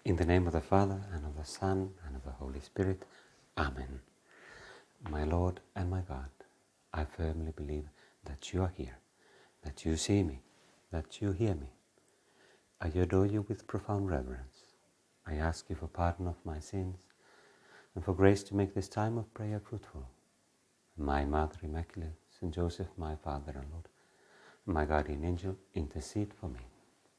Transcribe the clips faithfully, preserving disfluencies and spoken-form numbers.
In the name of the Father, and of the Son, and of the Holy Spirit. Amen. My Lord and my God, I firmly believe that you are here, that you see me, that you hear me. I adore you with profound reverence. I ask you for pardon of my sins, and for grace to make this time of prayer fruitful. My Mother Immaculate, Saint Joseph, my Father and Lord, my guardian angel, intercede for me.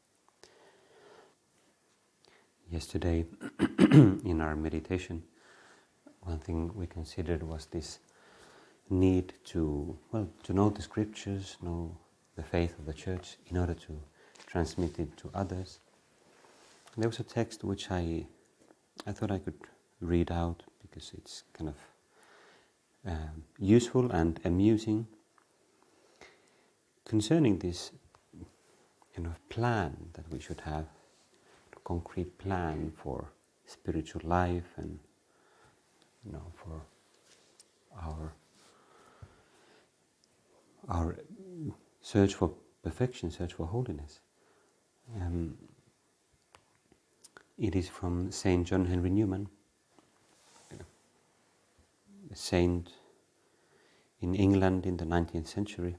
Yesterday, in our meditation, one thing we considered was this need to, well, to know the scriptures, know the faith of the Church in order to transmit it to others. And there was a text which I, I thought I could read out because it's kind of um, useful and amusing concerning this kind of plan that we should have, a concrete plan for spiritual life and, you know, for our our search for perfection, search for holiness. Um, it is from Saint John Henry Newman, a saint in England in the nineteenth century,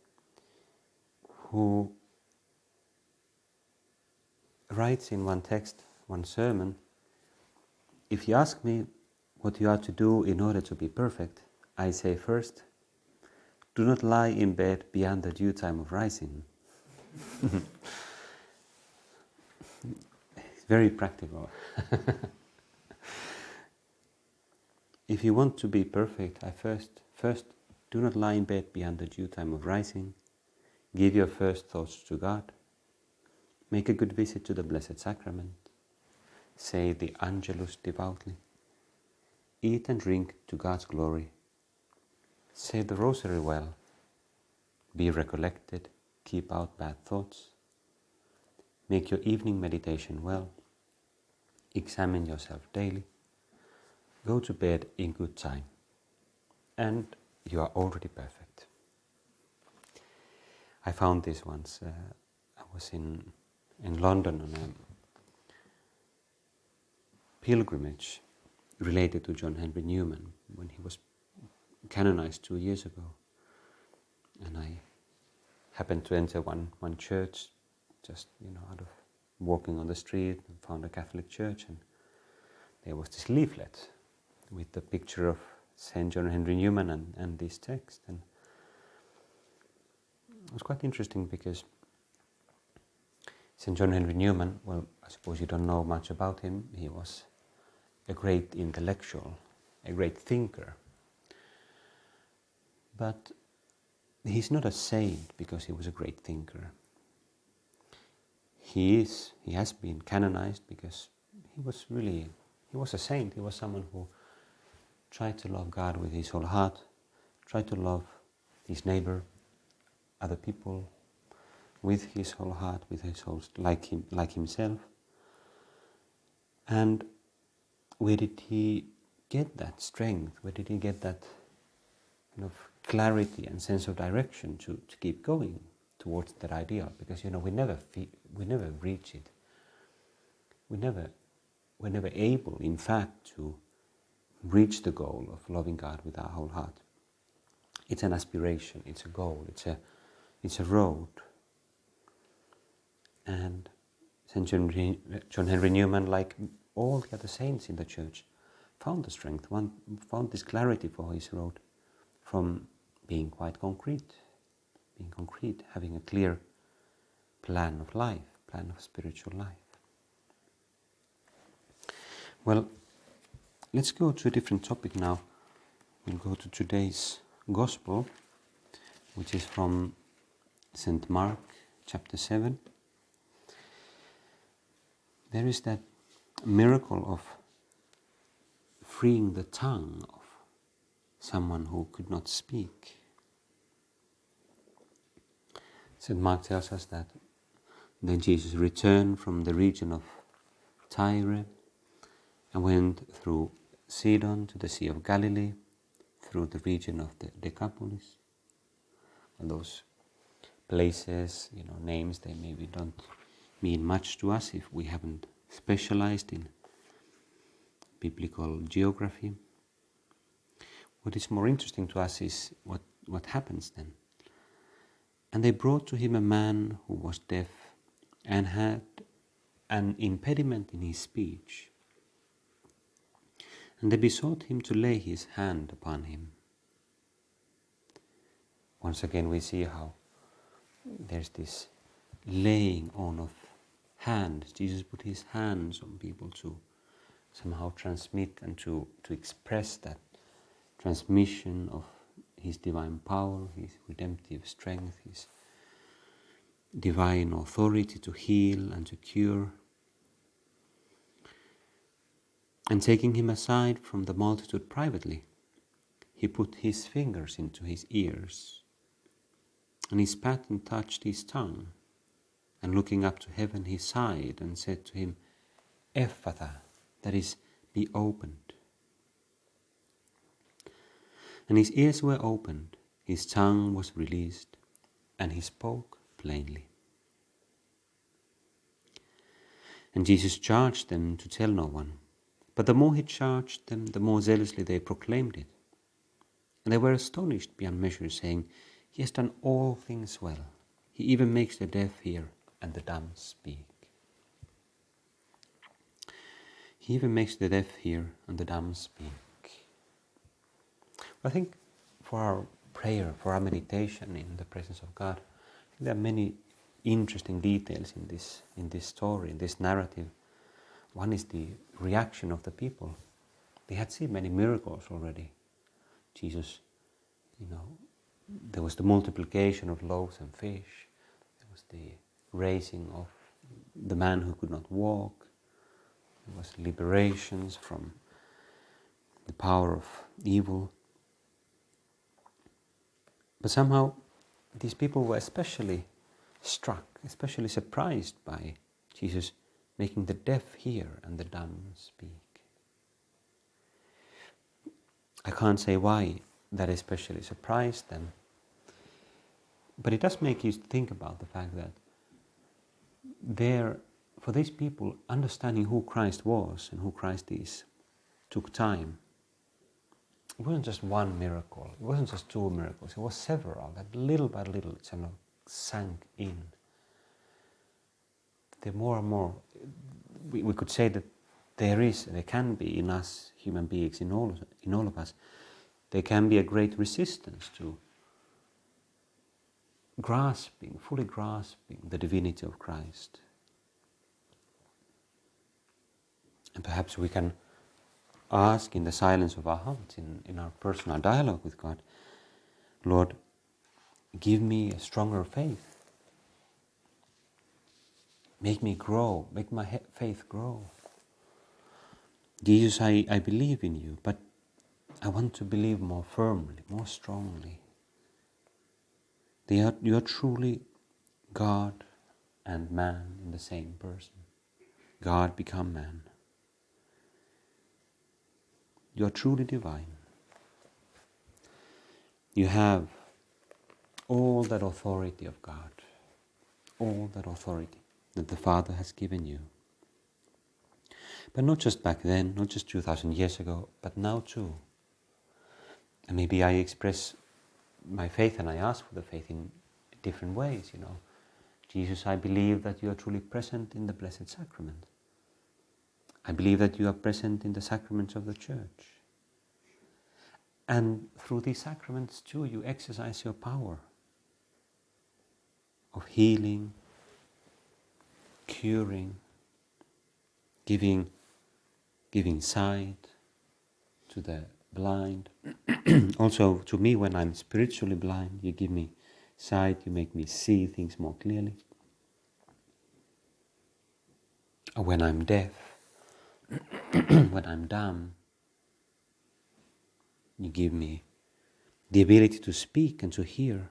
who writes in one text, one sermon, "If you ask me what you are to do in order to be perfect, I say first, do not lie in bed beyond the due time of rising." It's very practical. If you want to be perfect, I first, first do not lie in bed beyond the due time of rising. Give your first thoughts to God. Make a good visit to the Blessed Sacrament. Say the Angelus devoutly. Eat and drink to God's glory. Say the Rosary well. Be recollected. Keep out bad thoughts. Make your evening meditation well. Examine yourself daily. Go to bed in good time. And you are already perfect. I found this once. Uh, I was in, in London on a pilgrimage related to John Henry Newman when he was canonized two years ago. And I happened to enter one, one church, just, you know, out of walking on the street, and found a Catholic church, and there was this leaflet with the picture of Saint John Henry Newman and, and this text. And it was quite interesting because Saint John Henry Newman, well, I suppose you don't know much about him. He was a great intellectual, a great thinker. But he's not a saint because he was a great thinker. He is, he has been canonized because he was really, he was a saint. He was someone who tried to love God with his whole heart, tried to love his neighbor, other people, with his whole heart, with his whole, like him, like himself. And where did he get that strength? Where did he get that kind of clarity and sense of direction to, to keep going towards that ideal? Because, you know, we never fe- we never reach it. We never we're never able, in fact, to reach the goal of loving God with our whole heart. It's an aspiration. It's a goal. It's a it's a road. And Saint John Henry Newman, like all the other saints in the Church, found the strength, one, found this clarity for his road from being quite concrete, being concrete, having a clear plan of life, plan of spiritual life. Well, let's go to a different topic now. We'll go to today's Gospel, which is from Saint Mark, chapter seven. There is that miracle of freeing the tongue of someone who could not speak. Saint Mark tells us that then Jesus returned from the region of Tyre and went through Sidon to the Sea of Galilee, through the region of the Decapolis. And those places, you know, names, they maybe don't mean much to us if we haven't specialized in biblical geography. What is more interesting to us is what, what happens then. And they brought to him a man who was deaf and had an impediment in his speech. And they besought him to lay his hand upon him. Once again we see how there's this laying on of hands. Jesus put his hands on people to somehow transmit and to, to express that transmission of his divine power, his redemptive strength, his divine authority to heal and to cure. And taking him aside from the multitude privately, he put his fingers into his ears, and he spat and touched his tongue, and looking up to heaven he sighed and said to him, Ephphatha, that is, be opened. And his ears were opened, his tongue was released, and he spoke plainly. And Jesus charged them to tell no one, but the more he charged them, the more zealously they proclaimed it. And they were astonished beyond measure, saying, He has done all things well. He even makes the deaf hear and the dumb speak. He even makes the deaf hear and the dumb speak. I think for our prayer, for our meditation in the presence of God, I think there are many interesting details in this in this story, in this narrative. One is the reaction of the people. They had seen many miracles already. Jesus, you know, there was the multiplication of loaves and fish. There was the raising of the man who could not walk. There was liberations from the power of evil. But somehow these people were especially struck, especially surprised by Jesus making the deaf hear and the dumb speak. I can't say why that especially surprised them, but it does make you think about the fact that there, for these people, understanding who Christ was and who Christ is took time. It wasn't just one miracle, it wasn't just two miracles, it was several, that little by little it kind of sank in. The more and more, we, we could say that there is, there can be in us human beings, in all, in all of us, there can be a great resistance to grasping, fully grasping the divinity of Christ. And perhaps we can ask in the silence of our hearts, in, in our personal dialogue with God, Lord, give me a stronger faith. Make me grow, make my he- faith grow. Jesus, I, I believe in you, but I want to believe more firmly, more strongly. They are, you are truly God and man in the same person. God become man. You are truly divine. You have all that authority of God, all that authority that the Father has given you. But not just back then, not just two thousand years ago, but now too. And maybe I express my faith and I ask for the faith in different ways, you know. Jesus, I believe that you are truly present in the Blessed Sacrament. I believe that you are present in the sacraments of the Church. And through these sacraments too, you exercise your power of healing, curing, giving, giving sight to the blind. Also to me, when I'm spiritually blind, you give me sight, you make me see things more clearly. Or when I'm deaf, when I'm dumb, you give me the ability to speak and to hear.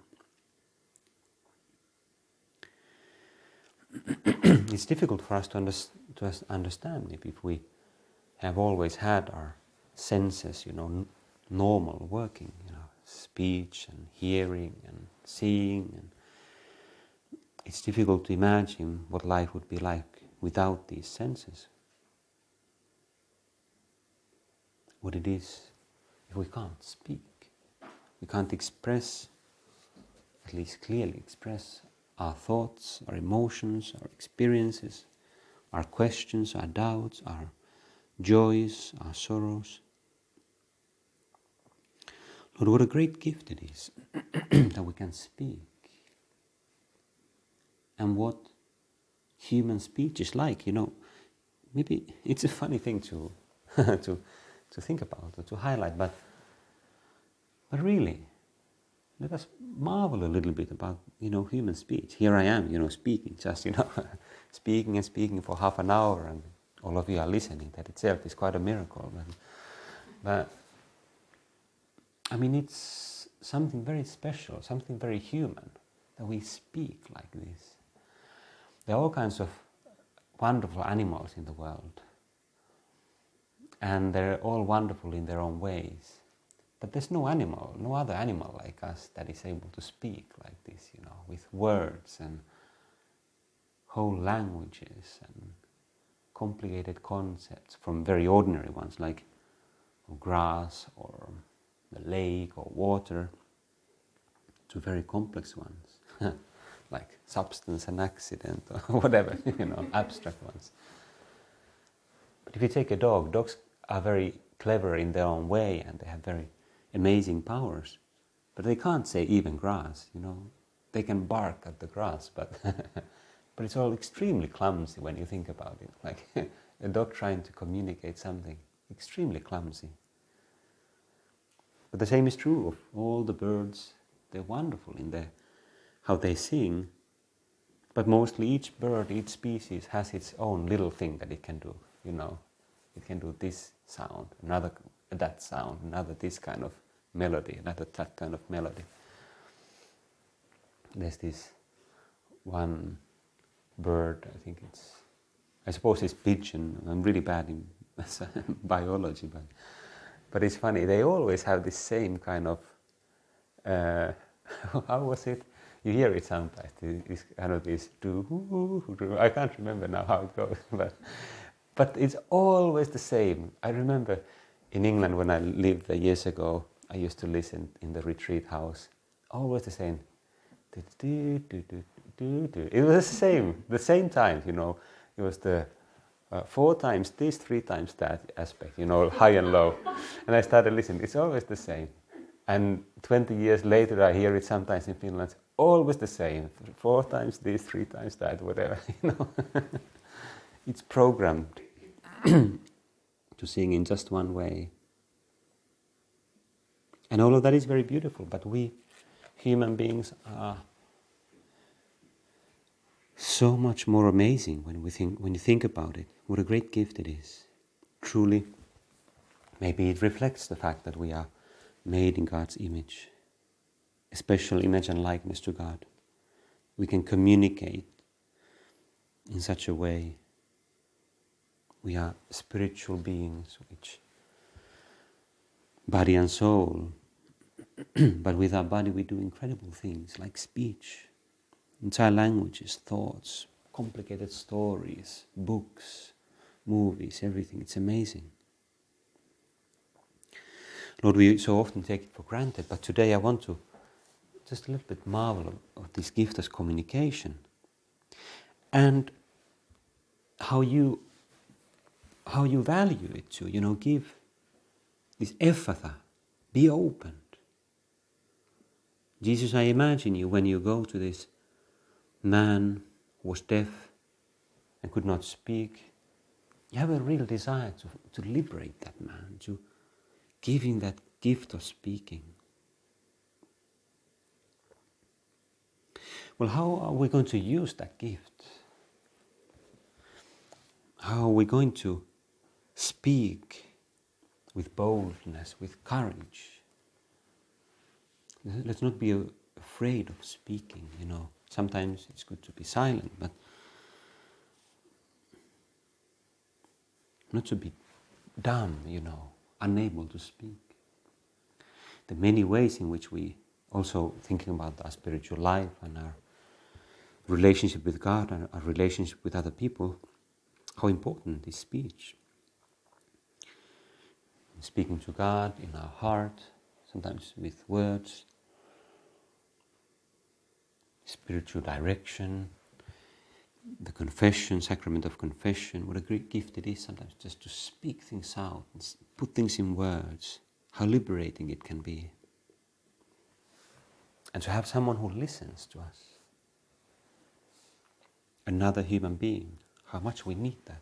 It's difficult for us to, under, to us understand maybe if we have always had our senses, you know, n- normal working, you know, speech and hearing and seeing. And it's difficult to imagine what life would be like without these senses. What it is, if we can't speak, we can't express, at least clearly express our thoughts, our emotions, our experiences, our questions, our doubts, our joys, our sorrows. Lord, what a great gift it is that we can speak. And what human speech is like, you know, maybe it's a funny thing to to to think about or to highlight, but but really, let us marvel a little bit about, you know, human speech. Here I am, you know, speaking, just, you know, speaking and speaking for half an hour, and all of you are listening. That itself is quite a miracle. But, but I mean, it's something very special, something very human, that we speak like this. There are all kinds of wonderful animals in the world, and they're all wonderful in their own ways. But there's no animal, no other animal like us that is able to speak like this, you know, with words and whole languages and complicated concepts, from very ordinary ones like grass or the lake or water, to very complex ones like substance and accident or whatever, you know, abstract ones. But if you take a dog, dogs are very clever in their own way, and they have very amazing powers, but they can't say even grass, you know. They can bark at the grass, but but it's all extremely clumsy when you think about it. Like a dog trying to communicate something, extremely clumsy. But the same is true of all the birds. They're wonderful in their how they sing, but mostly each bird, each species has its own little thing that it can do, you know. It can do this sound, another that sound, another this kind of melody, another that kind of melody. There's this one bird, I think it's, I suppose it's pigeon. I'm really bad in biology, but but it's funny. They always have this same kind of, uh, how was it? You hear it sometimes. It's kind of this do. I can't remember now how it goes, but but it's always the same. I remember in England when I lived there years ago, I used to listen in the retreat house. Always the same. It was the same, the same time, you know. It was the uh, four times this, three times that aspect, you know, high and low. And I started listening. It's always the same. And twenty years later, I hear it sometimes in Finland. Always the same. Four times this, three times that, whatever, you know. It's programmed to sing in just one way. And all of that is very beautiful, but we human beings are so much more amazing when we think when you think about it. What a great gift it is. Truly, maybe it reflects the fact that we are made in God's image, a special image and likeness to God. We can communicate in such a way. We are spiritual beings, which body and soul, but with our body we do incredible things like speech, entire languages, thoughts, complicated stories, books, movies, everything. It's amazing. Lord, we so often take it for granted, but today I want to just a little bit marvel of this gift as communication, and how you how you value it too. You know, give this ephatha, be opened. Jesus, I imagine you when you go to this man who was deaf and could not speak. You have a real desire to, to liberate that man, to give him that gift of speaking. Well, how are we going to use that gift? How are we going to speak with boldness, with courage? Let's not be afraid of speaking, you know. Sometimes it's good to be silent, but not to be dumb, you know, unable to speak. The many ways in which we also thinking about our spiritual life and our relationship with God and our relationship with other people, how important is speech. Speaking to God in our heart, sometimes with words, spiritual direction, the confession, sacrament of confession, what a great gift it is sometimes just to speak things out and put things in words, how liberating it can be. And to have someone who listens to us, another human being, how much we need that.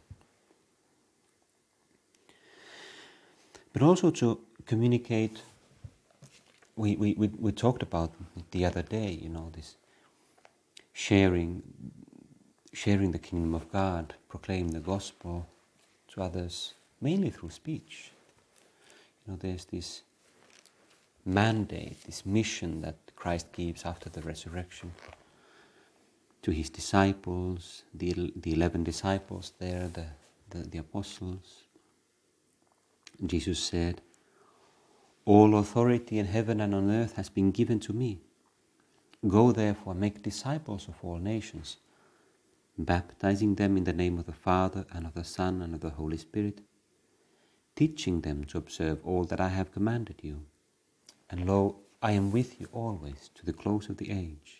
But also to communicate, we, we, we, we talked about it the other day, you know, this sharing, sharing the kingdom of God, proclaim the gospel to others, mainly through speech. You know, there's this mandate, this mission that Christ gives after the resurrection to his disciples, the, the eleven disciples there, the, the, the apostles. Jesus said, "All authority in heaven and on earth has been given to me. Go therefore, make disciples of all nations, baptizing them in the name of the Father and of the Son and of the Holy Spirit, teaching them to observe all that I have commanded you. And lo, I am with you always to the close of the age."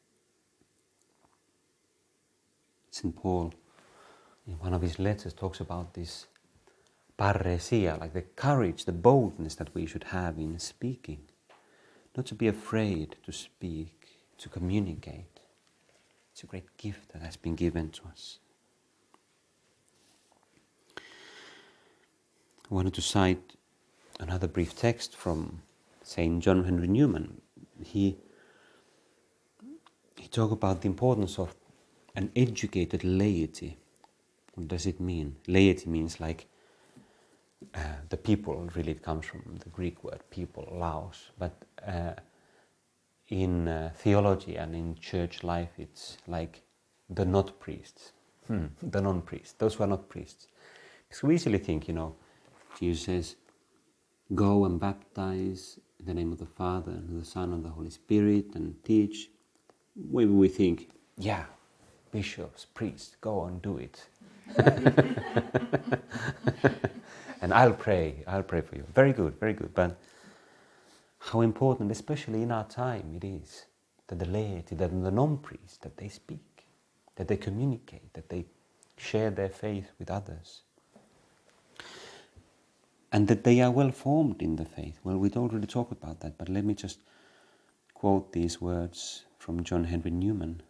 Saint Paul, in one of his letters, talks about this parresia, like the courage, the boldness that we should have in speaking. Not to be afraid to speak, to communicate. It's a great gift that has been given to us. I wanted to cite another brief text from Saint John Henry Newman. He, he talked about the importance of an educated laity. What does it mean? Laity means like uh, the people, really it comes from the Greek word people, laos. But uh, in uh, theology and in church life it's like the not priests, hmm. the non-priests, those who are not priests. Because we easily think, you know, Jesus says, "Go and baptize in the name of the Father and of the Son and the Holy Spirit and teach." Maybe we think, yeah, bishops, priests, go and do it. And I'll pray, I'll pray for you. Very good, very good. But how important, especially in our time, it is that the laity, that the non-priests, that they speak, that they communicate, that they share their faith with others. And that they are well formed in the faith. Well, we'd already talked about that, but let me just quote these words from John Henry Newman.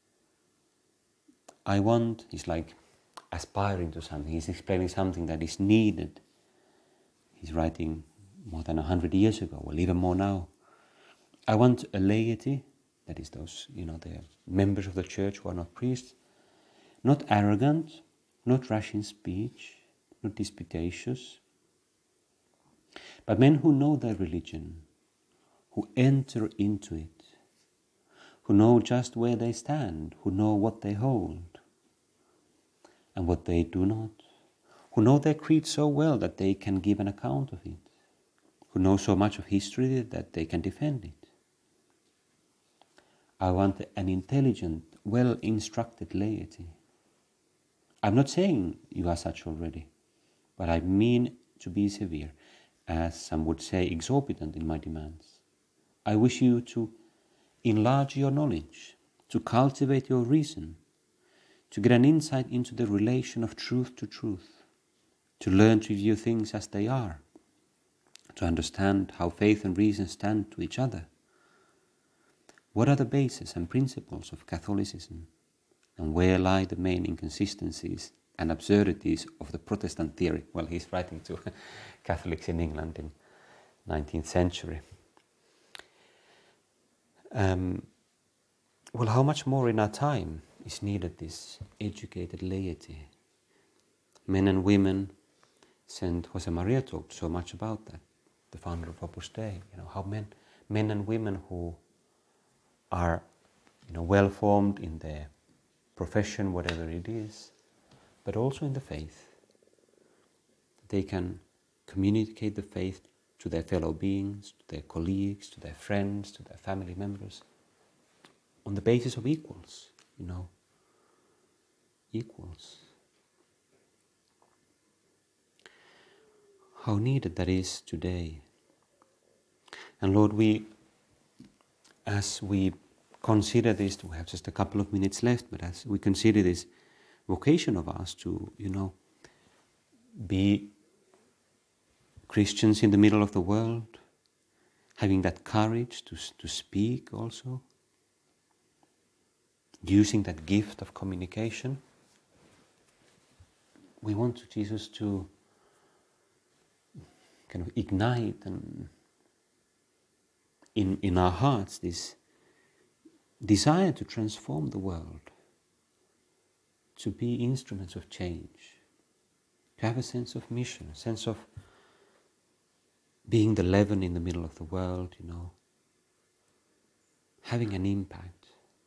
I want, he's like aspiring to something, he's explaining something that is needed. He's writing more than a hundred years ago, well, even more now. I want a laity, that is those, you know, the members of the church who are not priests, not arrogant, not rash in speech, not disputatious, but men who know their religion, who enter into it, who know just where they stand, who know what they hold and what they do not, who know their creed so well that they can give an account of it, who know so much of history that they can defend it. I want an intelligent, well-instructed laity. I'm not saying you are such already, but I mean to be severe, as some would say exorbitant in my demands. I wish you to enlarge your knowledge, to cultivate your reason, to get an insight into the relation of truth to truth, to learn to view things as they are, to understand how faith and reason stand to each other. What are the bases and principles of Catholicism, and where lie the main inconsistencies and absurdities of the Protestant theory? Well, he's writing to Catholics in England in nineteenth century. Um, well, how much more in our time is needed this educated laity? Men and women, Saint Jose Maria talked so much about that, the founder of Opus Dei, you know, how men, men and women who are, you know, well formed in their profession, whatever it is, but also in the faith. They can communicate the faith to their fellow beings, to their colleagues, to their friends, to their family members, on the basis of equals, you know, equals. how needed that is today. And Lord, we, as we consider this, we have just a couple of minutes left, but as we consider this vocation of us to, you know, be Christians in the middle of the world, having that courage to, to speak also, using that gift of communication, we want Jesus to kind of ignite and in, in our hearts this desire to transform the world, to be instruments of change, to have a sense of mission, a sense of being the leaven in the middle of the world, you know, having an impact.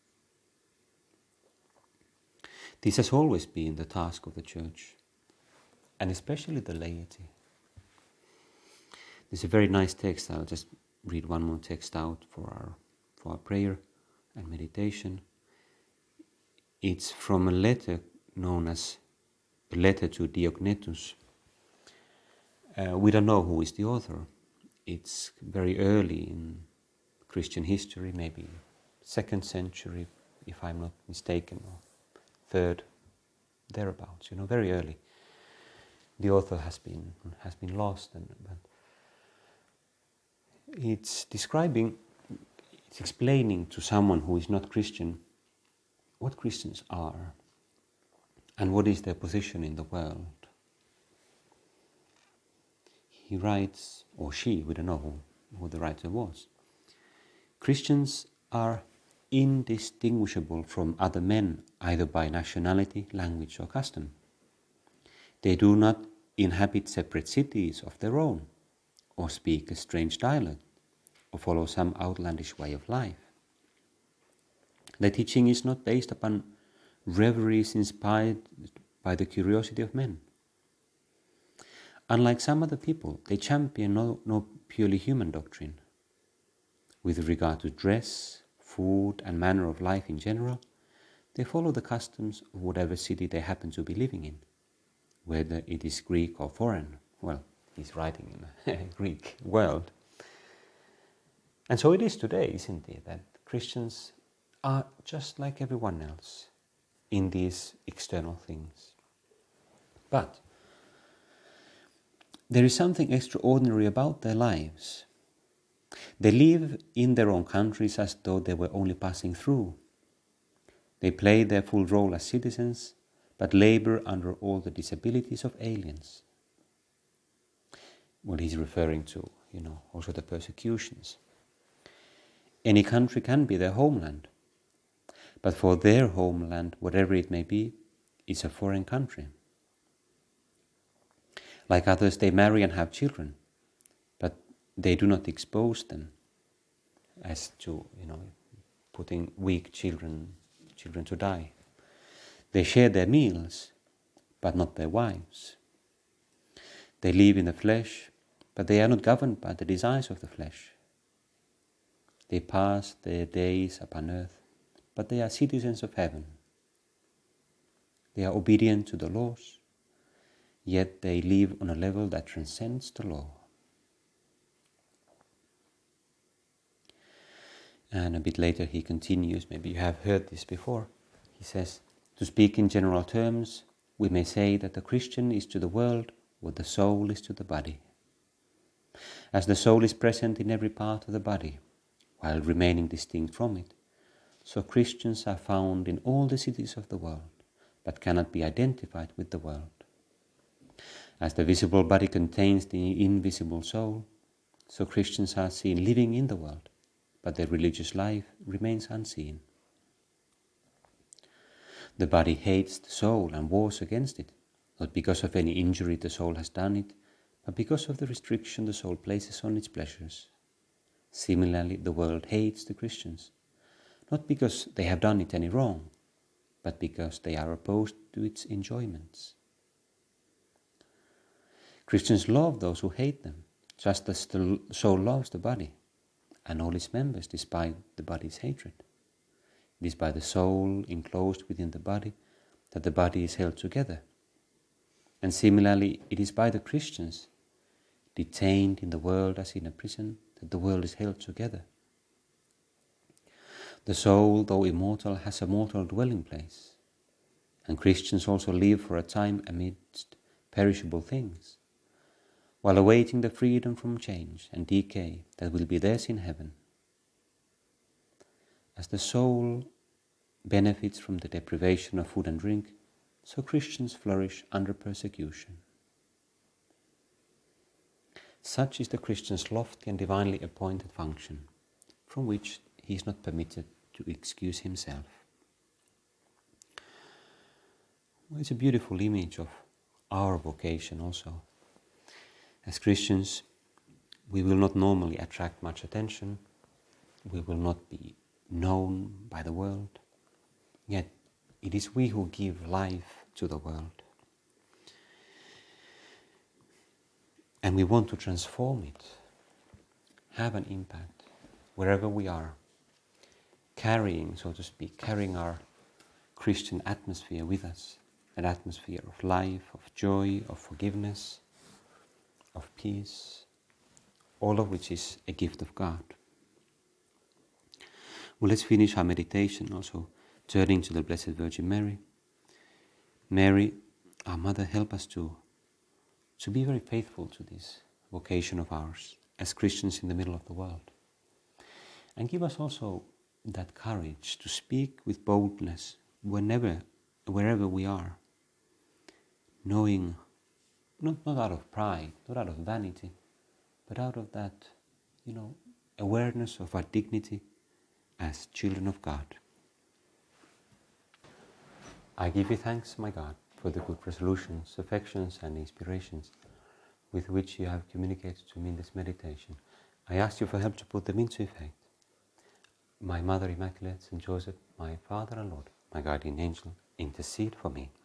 This has always been the task of the Church, and especially the laity. There's a very nice text. I'll just read one more text out for our for our prayer and meditation. It's from a letter known as the letter to Diognetus. Uh, we don't know who is the author. It's very early in Christian history, maybe second century, if I'm not mistaken, or third, thereabouts. You know, very early. The author has been has been lost, and but it's describing, it's explaining to someone who is not Christian what Christians are and what is their position in the world. He writes, or she, we don't know who, who the writer was. Christians are indistinguishable from other men, either by nationality, language, or custom. They do not inhabit separate cities of their own, or speak a strange dialect, or follow some outlandish way of life. Their teaching is not based upon reveries inspired by the curiosity of men. Unlike some other people, they champion no, no purely human doctrine. With regard to dress, food, and manner of life in general, they follow the customs of whatever city they happen to be living in, whether it is Greek or foreign. Well, he's writing in a Greek world. And so it is today, isn't it, that Christians are just like everyone else in these external things. But there is something extraordinary about their lives. They live in their own countries as though they were only passing through. They play their full role as citizens, but labor under all the disabilities of aliens. Well, he's referring to, you know, also the persecutions. Any country can be their homeland, but for their homeland, whatever it may be, is a foreign country. Like others, they marry and have children, but they do not expose them as to, you know, putting weak children, children to die. They share their meals, but not their wives. They live in the flesh, but they are not governed by the desires of the flesh. They pass their days upon earth, but they are citizens of heaven. They are obedient to the laws, yet they live on a level that transcends the law. And a bit later he continues, maybe you have heard this before. He says, to speak in general terms, we may say that the Christian is to the world what the soul is to the body. As the soul is present in every part of the body, while remaining distinct from it, so Christians are found in all the cities of the world, but cannot be identified with the world. As the visible body contains the invisible soul, so Christians are seen living in the world, but their religious life remains unseen. The body hates the soul and wars against it, not because of any injury the soul has done it, but because of the restriction the soul places on its pleasures. Similarly, the world hates the Christians, not because they have done it any wrong, but because they are opposed to its enjoyments. Christians love those who hate them, just as the soul loves the body, and all its members despite the body's hatred. It is by the soul enclosed within the body that the body is held together. And similarly, it is by the Christians detained in the world as in a prison, that the world is held together. The soul, though immortal, has a mortal dwelling place, and Christians also live for a time amidst perishable things, while awaiting the freedom from change and decay that will be theirs in heaven. As the soul benefits from the deprivation of food and drink, so Christians flourish under persecution. Such is the Christian's lofty and divinely appointed function, from which he is not permitted to excuse himself. Well, it's a beautiful image of our vocation also. As Christians, we will not normally attract much attention, we will not be known by the world, yet it is we who give life to the world. And we want to transform it, have an impact wherever we are, carrying, so to speak, carrying our Christian atmosphere with us, an atmosphere of life, of joy, of forgiveness, of peace, all of which is a gift of God. Well, let's finish our meditation also turning to the Blessed Virgin Mary. Mary, our Mother, help us to, to be very faithful to this vocation of ours as Christians in the middle of the world. And give us also that courage to speak with boldness whenever, wherever we are, knowing, not, not out of pride, not out of vanity, but out of that, you know, awareness of our dignity as children of God. I give you thanks, my God, for the good resolutions, affections and inspirations with which you have communicated to me in this meditation. I ask you for help to put them into effect. My Mother Immaculate, Saint Joseph, my Father and Lord, my guardian angel, intercede for me.